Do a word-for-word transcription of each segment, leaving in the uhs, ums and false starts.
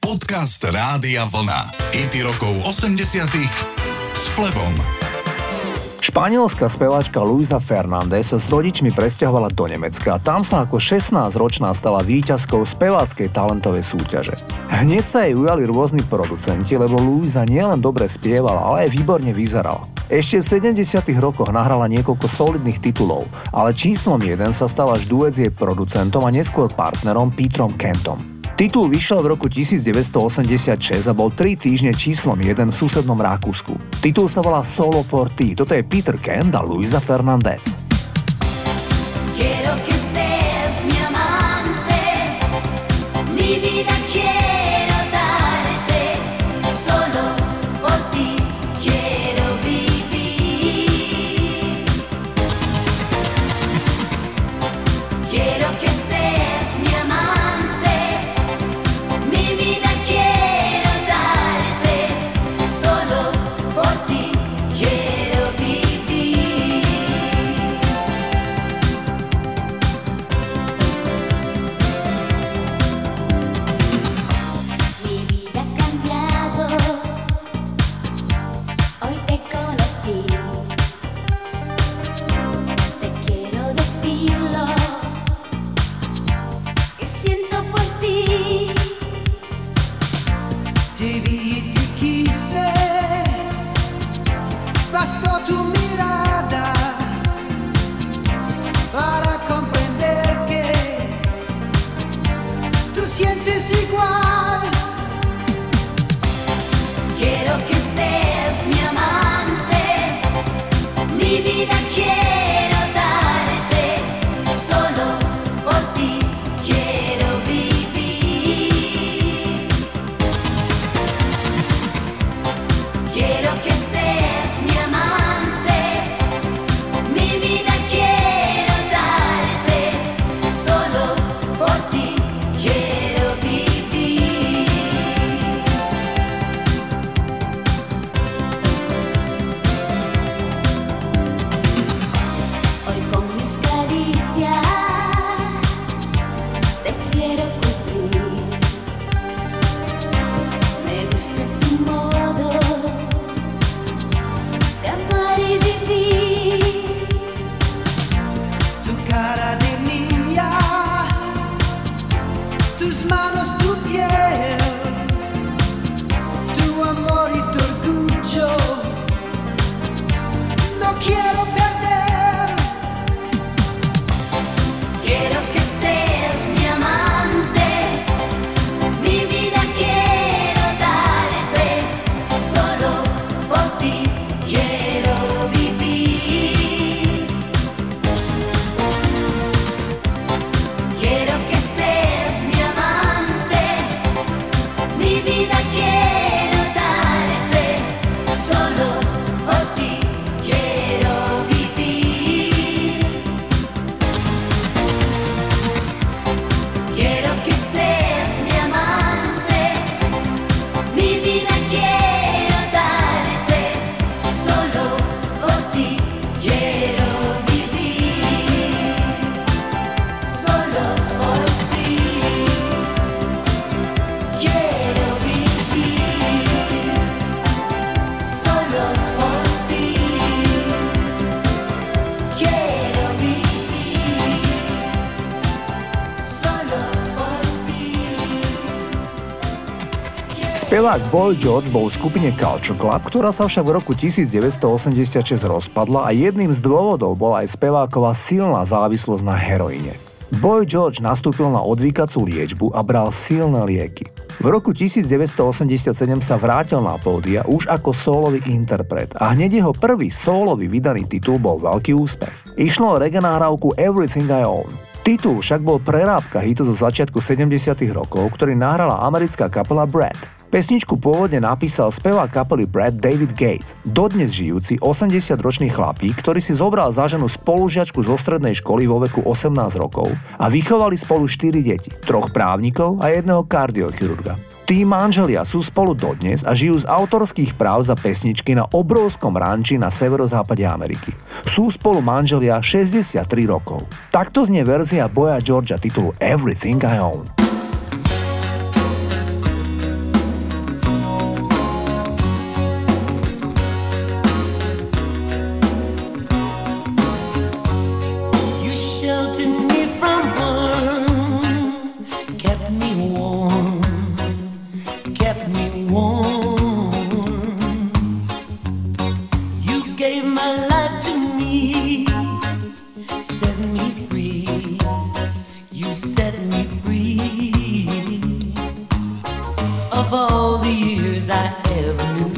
Podcast Rádia Vlna. Hity rokov osemdesiatych s Flebom. Španielská speváčka Luisa Fernández sa s rodičmi presťahovala do Nemecka a tam sa ako šestnásťročná stala víťazkou speváckej talentovej súťaže. Hneď sa jej ujali rôzni producenti, lebo Luisa nielen dobre spievala, ale aj výborne vyzerala. Ešte v sedemdesiatych rokoch nahrala niekoľko solidných titulov, ale číslom jeden sa stal až duet s jej producentom a neskôr partnerom Peterom Kentom. Titul vyšiel v roku devätnásťstoosemdesiatšesť a bol tri týždne číslom jeden v susednom Rakúsku. Titul sa volá Solo por ti. Toto je Peter Kent a Luisa Fernández. Quiero que seas mi amante, mi vida quiero darte, solo por ti quiero vivir. Quiero que seas mi amante. Spevák Boy George bol v skupine Culture Club, ktorá sa však v roku devätnásťstoosemdesiatšesť rozpadla a jedným z dôvodov bola aj speváková silná závislosť na heroíne. Boy George nastúpil na odvykacú liečbu a bral silné lieky. V roku devätnásťstoosemdesiatsedem sa vrátil na pódia už ako sólový interpret a hneď jeho prvý sólový vydaný titul bol veľký úspech. Išlo o regenáravku Everything I Own. Titul však bol prerábka hitu zo začiatku sedemdesiatych rokov, ktorý nahrala americká kapela Brad. Pesničku pôvodne napísal spevák kapely Brad David Gates, dodnes žijúci osemdesiatročný chlapík, ktorý si zobral za ženu spolužiačku zo strednej školy vo veku osemnásť rokov a vychovali spolu štyri deti, troch právnikov a jedného kardiochirurga. Tí manželia sú spolu dodnes a žijú z autorských práv za pesničky na obrovskom ranči na severozápade Ameriky. Sú spolu manželia šesťdesiattri rokov. Takto znie verzia Boya Georgea titulu Everything I Own. of all the years I ever knew.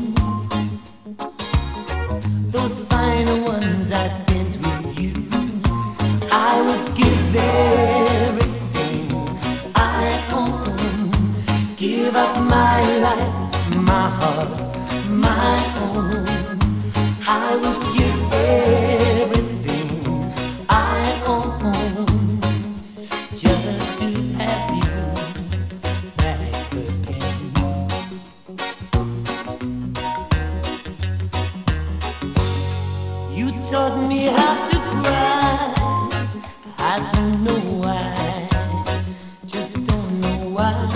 Those final ones I spent with you, I would give everything I own, give up my life, my heart, my own. I would give everything I own just to have you back again. You taught me how to cry. I don't know why, just don't know why.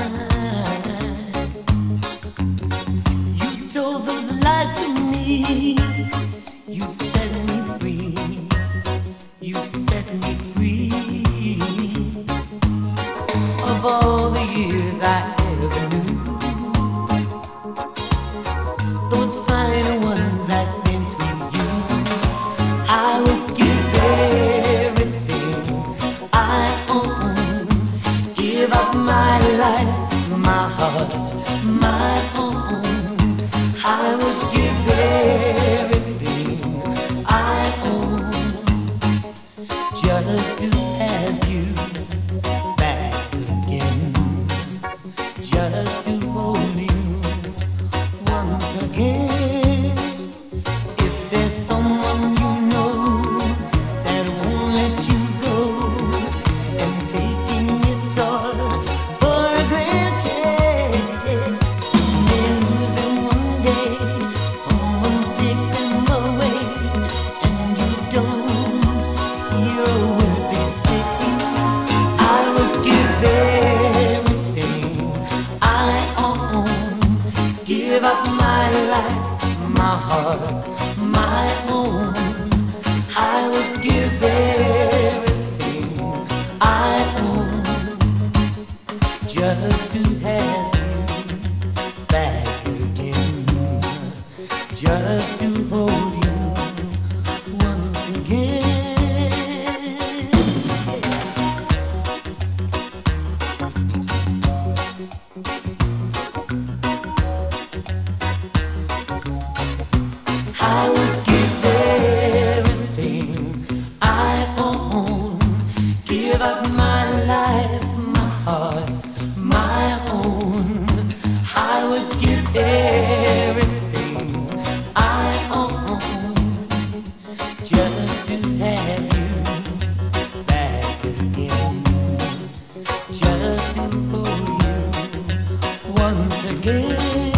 You told those lies to me. You set me free. You set me free. Of all the years I ever knew, those final ones I spent with you, I would give everything I own, give up my life, my heart, my own. I would give everything I own just to have you back again, just to hold you once again. If there's someone you know that won't let you go and taking it all for granted, then lose them one day, someone take them away, and you don't hear a word they say. I would give everything I own, give up my life, my heart, my own. I would give everything I own just to have you back again, just to hold you once again. I would give everything I own, give up my life, my heart, my own. I would give everything I own just to have you back again, just to hold you once again.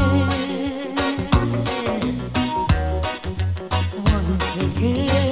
Once again.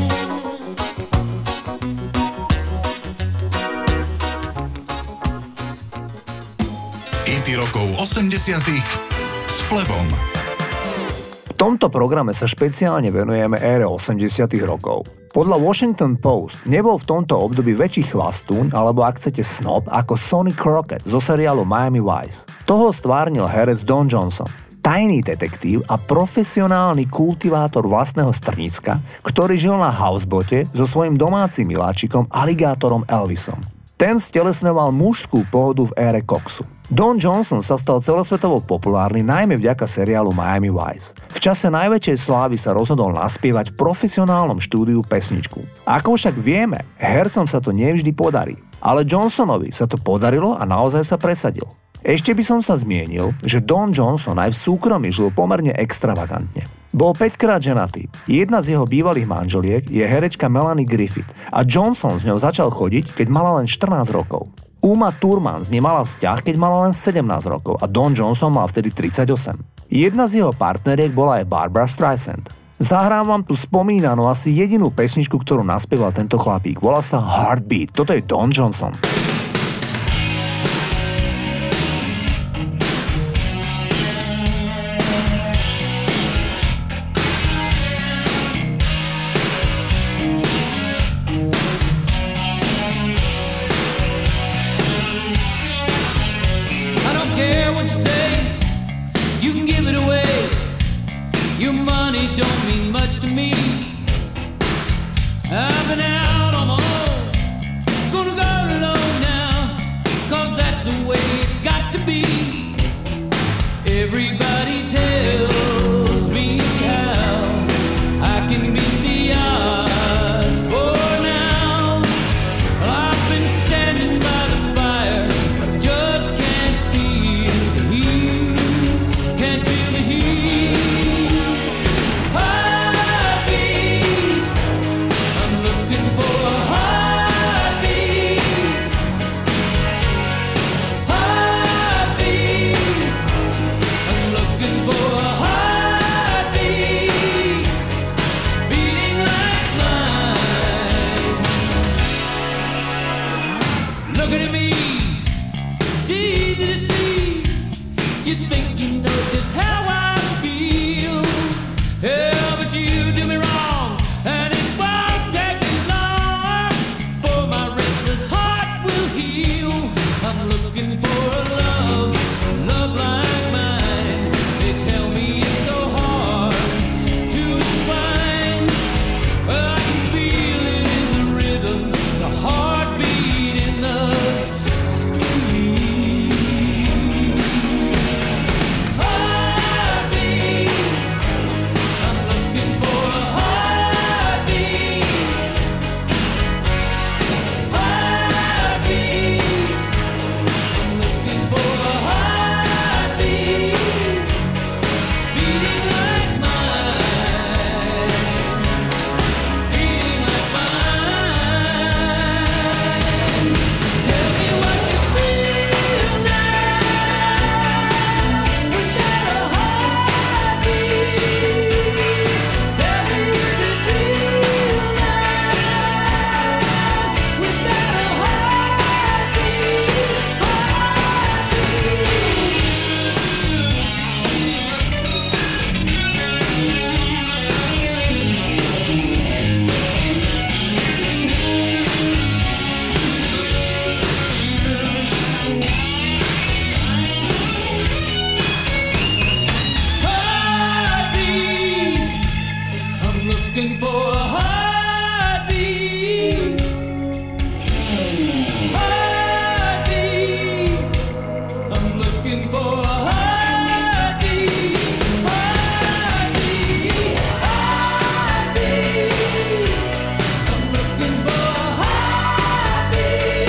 Hity rokov osemdesiatych s Flebom. V tomto programe sa špeciálne venujeme ére osemdesiatych rokov. Podľa Washington Post nebol v tomto období väčší chvastúň alebo ak chcete snob ako Sonny Crockett zo seriálu Miami Vice. Toho stvárnil herec Don Johnson, tajný detektív a profesionálny kultivátor vlastného strnícka, ktorý žil na housebote so svojím domácim miláčikom aligátorom Elvisom. Ten stelesňoval mužskú pohodu v ére koksu. Don Johnson sa stal celosvetovo populárny najmä vďaka seriálu Miami Vice. V čase najväčšej slávy sa rozhodol naspievať v profesionálnom štúdiu pesničku. Ako však vieme, hercom sa to nevždy podarí. Ale Johnsonovi sa to podarilo a naozaj sa presadil. Ešte by som sa zmienil, že Don Johnson aj v súkromí žil pomerne extravagantne. Bol päťkrát ženatý. Jedna z jeho bývalých manželiek je herečka Melanie Griffith a Johnson s ňou začal chodiť, keď mala len štrnásť rokov. Uma Thurman s ním mala vzťah, keď mala len sedemnásť rokov a Don Johnson mal vtedy tridsaťosem. Jedna z jeho partneriek bola aj Barbara Streisand. Zahrám vám tu spomínanú asi jedinú pesničku, ktorú naspieval tento chlapík. Volá sa Heartbeat. Toto je Don Johnson. Be Everybody tells me how I can beat the odds for now. I've been standing by the fire, I just can't feel the heat, can't feel the heat. Heartbeat, I'm looking for a heartbeat. Heartbeat, I'm looking for a heartbeat, beating like mine. Looking at me, it's easy to see. You think you know just how I feel. Yeah, but you do me wrong, and it won't take me long for my restless heart will heal. I'm looking for a love, love like mine. They tell me it's so hard to find. Well, I can feel it in the rhythm, the heartbeat in the street. Heartbeat, I'm looking for a heartbeat. Heartbeat, I'm looking for a heartbeat, beating like mine, beating like mine. Tell me what you feel now without a heartbeat. Tell me what you feel now without a heartbeat. I'm looking for a heartbeat. Heartbeat, I'm looking for a heartbeat. Heartbeat, heartbeat, I'm looking for a heartbeat.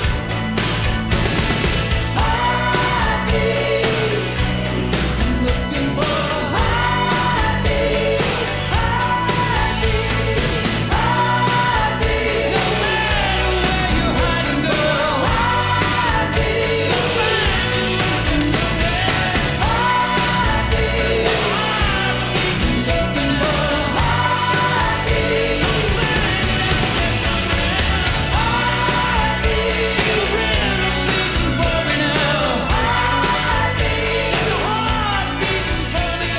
Heartbeat, I'm looking for a heartbeat. Heartbeat, heartbeat, no matter where you're hiding, girl. Heartbeat, you'll find you looking somewhere. Heartbeat, heartbeat, looking for a heartbeat. You'll find you looking somewhere. Heartbeat, you're really looking for me now. Heartbeat, there's a heart beating for me,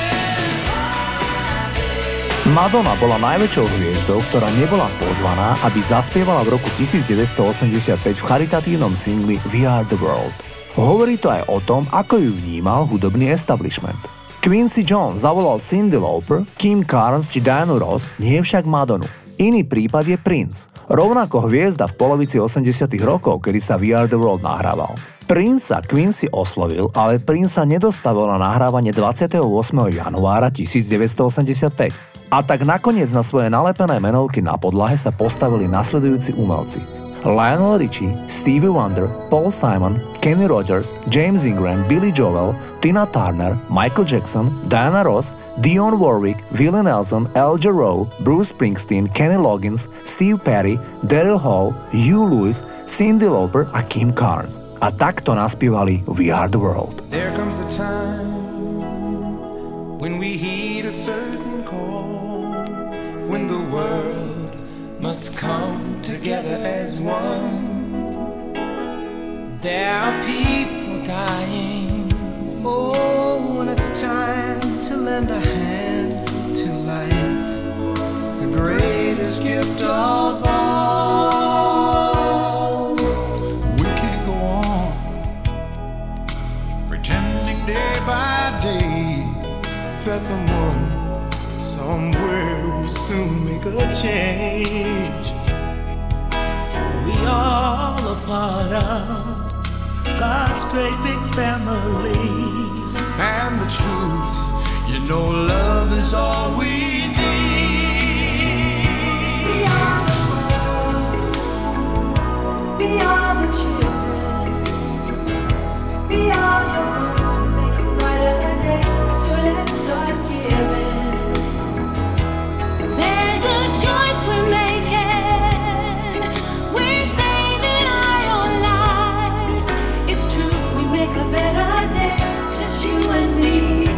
yeah. Madonna bola najväčšou hviezdou, ktorá nebola pozvaná, aby zaspievala v roku devätnásťstoosemdesiatpäť v charitatívnom singli We Are The World. Hovorí to aj o tom, ako ju vnímal hudobný establishment. Quincy Jones zavolal Cyndi Lauper, Kim Carnes či Dianu Ross, nie však Madonu. Iný prípad je Prince. Rovnako hviezda v polovici osemdesiatych rokov, kedy sa We Are The World nahrával. Prince sa Quincy oslovil, ale Prince sa nedostavil na nahrávanie dvadsiateho ôsmeho januára devätnásťstoosemdesiatpäť. A tak nakoniec na svoje nalepené menovky na podlahe sa postavili nasledujúci umelci. Lionel Richie, Stevie Wonder, Paul Simon, Kenny Rogers, James Ingram, Billy Joel, Tina Turner, Michael Jackson, Diana Ross, Dionne Warwick, Willie Nelson, Al Jarreau, Bruce Springsteen, Kenny Loggins, Steve Perry, Daryl Hall, Hugh Lewis, Cyndi Lauper a Kim Carnes. A takto naspievali We Are The World. There comes a time when we heed a certain call, when the world must come together as one. There are people dying. Oh, when it's time to lend a hand to life, the greatest gift of all. We can't go on pretending day by day that someone somewhere will soon make a change. We all a part of God's great big family. And truth. You know love is all we need. We are the world. We are the children. We are the ones who make a brighter day. So let's start giving. There's a choice we're making. We're saving our own lives. It's true, we make a better day. Just you and me.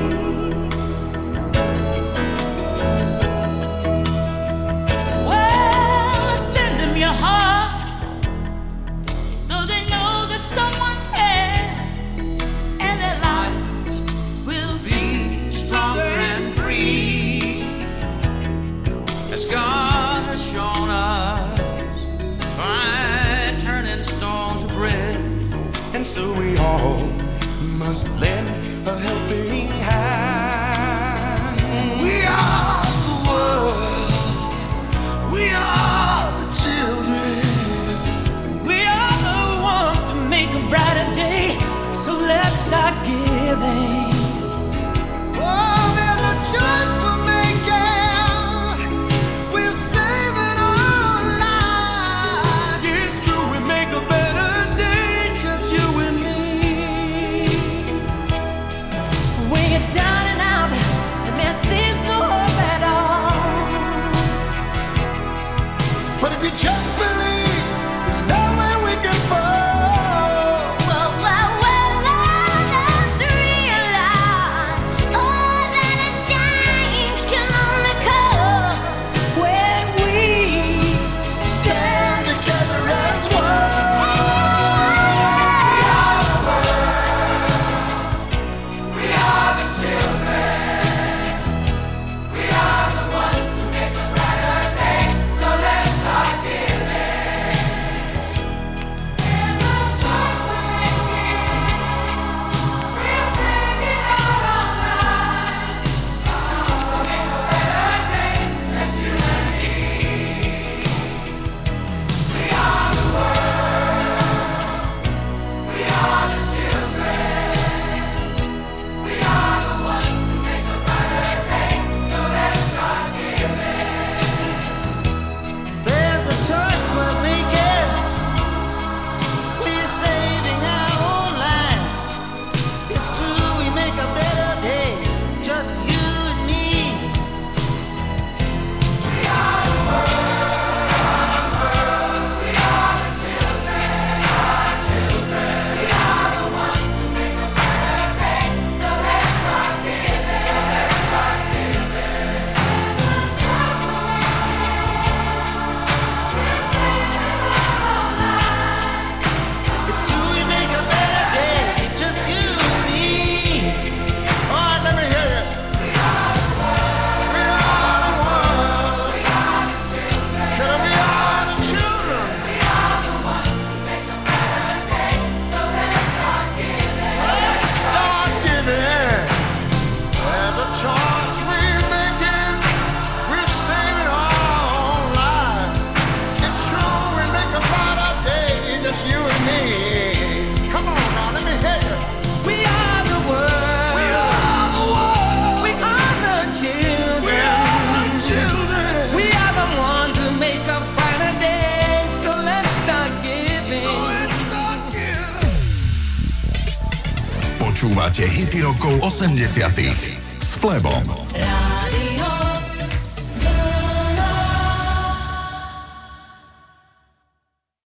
Well, send them your heart so they know that someone cares and their lives will be stronger and free. As God has shown us by turning stone to bread. And so we all must lend a helping hand. We are the world. We are the children. We are the ones to make a brighter day, so let's start giving. Oh, there's a choice we're making. We're saving our lives. It's true, we make a better day. Just you and me. When you're down and out and there seems no hope at all. But if you just believe, there's nowhere we can fall. Well, well, well, I just realize, oh, that a change can only come when we stand together as one. There's a choice we're making. We're saving our own lives. It's true, we make a better day. Just you and me. It's true, we make a better day. Just you and me. All right, let me hear you. We are the world. We are the world. We are the children. Tell 'em we are the children. We are the ones who make a better day. So let's start giving. Let's start giving. There's a choice we're making. We're saving our own lives. It's true, we make a brighter day. Just you and me. Come on now, let me hear you. We are the world. We are the world. We are the children. We are the children. We are the ones who make a brighter day, so let's start giving. So let's start giving. Počúvate hity rokov osemdesiatych s Flebom.